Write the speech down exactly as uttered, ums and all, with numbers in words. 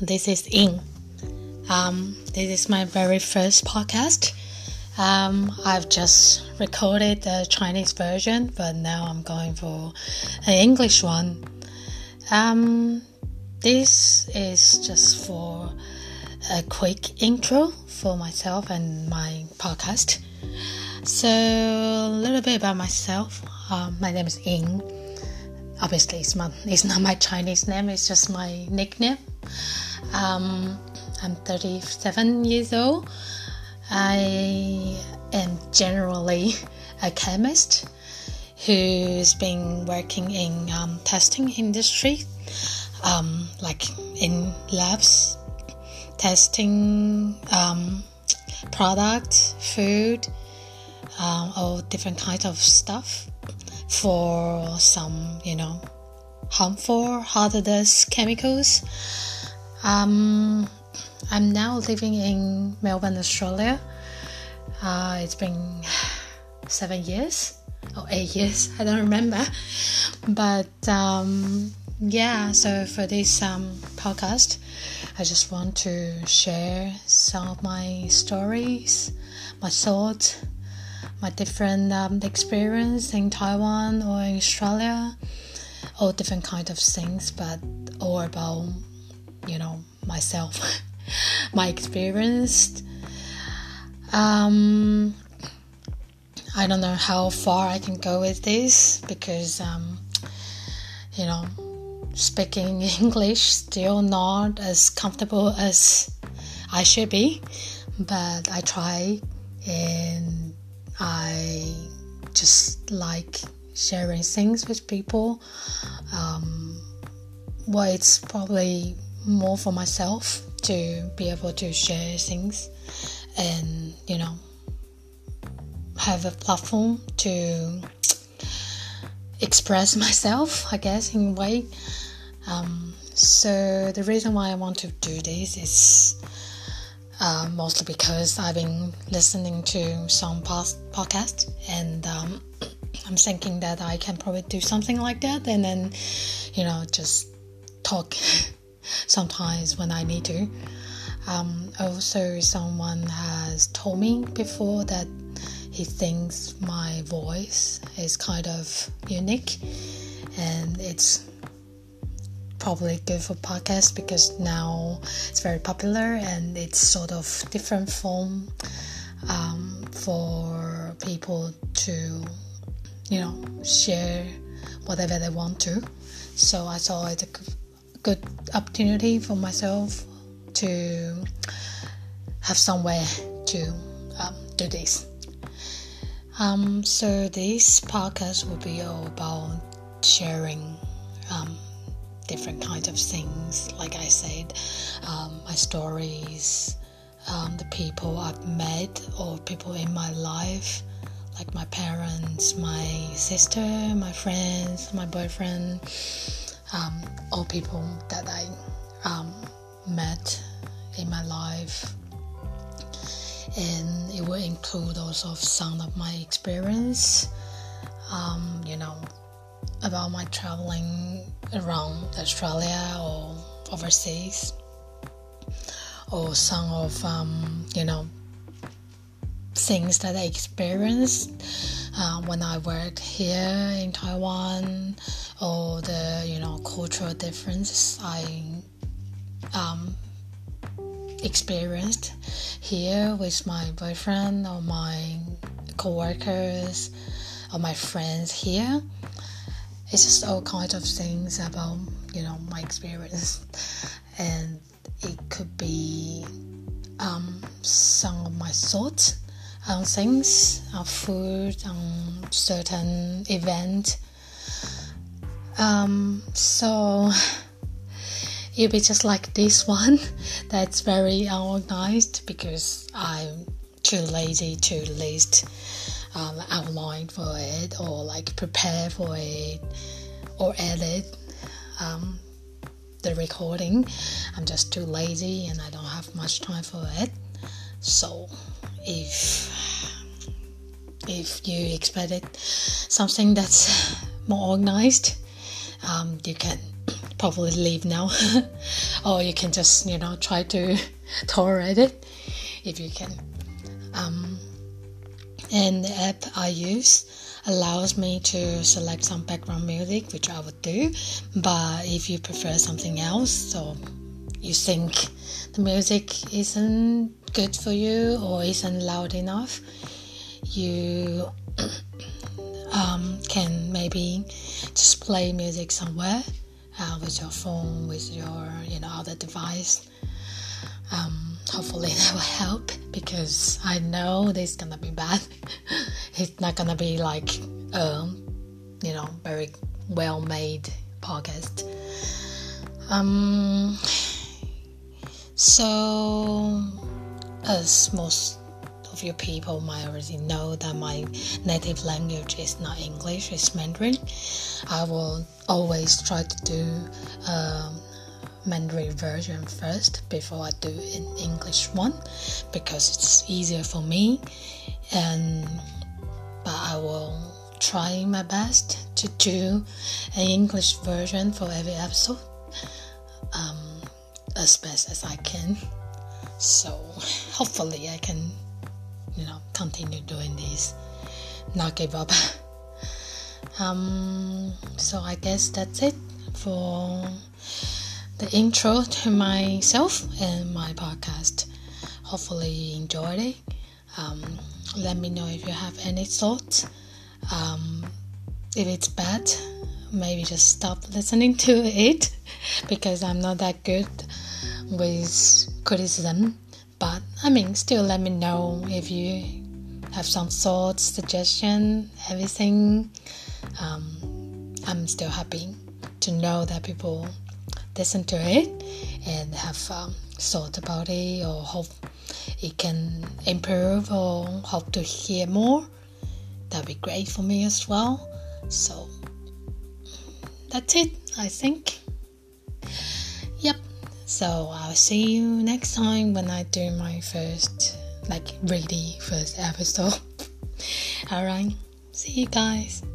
this is In. Um, this is my very first podcast. Um, I've just recorded the Chinese version, but now I'm going for an English one. Um, this is just for a quick intro for myself and my podcast. So, a little bit about myself. Um, my name is In. Obviously, it's, my, it's not my Chinese name, it's just my nickname. Um, I'm thirty-seven years old. I am generally a chemist who's been working in um, testing industry, um, like in labs, testing um, product, food, um, all different kinds of stuff for some, you know, harmful, hazardous chemicals. Um, I'm now living in Melbourne, Australia. Uh, it's been seven years or eight years, I don't remember. But um, yeah, so for this um, podcast, I just want to share some of my stories, my thoughts, my different um, experience in Taiwan or in Australia, all different kinds of things, but all about, you know, myself, my experience. Um, I don't know how far I can go with this because, um, you know, speaking English still not as comfortable as I should be, but I try, and I just like sharing things with people. Um, well, it's probably more for myself to be able to share things and, you know, have a platform to express myself, I guess, in a way. Um, so the reason why I want to do this is uh, mostly because I've been listening to some past podcasts, and um, I'm thinking that I can probably do something like that, and then, you know, just talk sometimes when I need to. Um, also, someone has told me before that he thinks my voice is kind of unique, and it's probably good for podcasts because now it's very popular and it's sort of different form um, for people to, you know, share whatever they want to. So I thought it's a good opportunity for myself to have somewhere to um, do this. Um, so this podcast will be all about sharing um, different kinds of things, like I said, um, my stories, um, the people I've met or people in my life, like my parents, my sister, my friends, my boyfriend, um, all people that I um, met in my life. And it will include also some of my experience, um, you know, about my traveling around Australia or overseas, or some of, um, you know, things that I experienced uh, when I worked here in Taiwan, or the, you know, cultural differences I um, experienced here with my boyfriend or my co-workers or my friends here. It's just all kinds of things about, you know, my experience, and it could be um, some of my thoughts on things, on food, on certain event. Um, so it'll be just like this one that's very unorganized because I'm too lazy to list um, outline for it, or like prepare for it, or edit um, the recording. I'm just too lazy and I don't have much time for it. So if if you expected something that's more organized, um, you can probably leave now. Or you can just, you know, try to tolerate it if you can. Um, and the app I use allows me to select some background music, which I would do. But if you prefer something else, so you think the music isn't good for you or isn't loud enough, you um, can maybe just play music somewhere uh, with your phone, with your, you know, other device. Um, hopefully that will help, because I know this is gonna be bad. It's not gonna be like a, you know, very well made podcast. Um, so as most of you people might already know that my native language is not English, it's Mandarin. I will always try to do um, Mandarin version first before I do an English one, because it's easier for me. And but I will try my best to do an English version for every episode, um, as best as I can. So hopefully I can, you know, continue doing this, not give up. um, so I guess that's it for the intro to myself and my podcast. Hopefully you enjoyed it. Um, let me know if you have any thoughts. Um, if it's bad, maybe just stop listening to it, because I'm not that good with criticism. But I mean, still let me know if you have some thoughts, suggestion, everything. Um, I'm still happy to know that people listen to it and have um, thought about it, or hope it can improve, or hope to hear more. That'd be great for me as well. So that's it, I think. Yep. So I'll see you next time when I do my first, like really first episode. Alright, see you guys.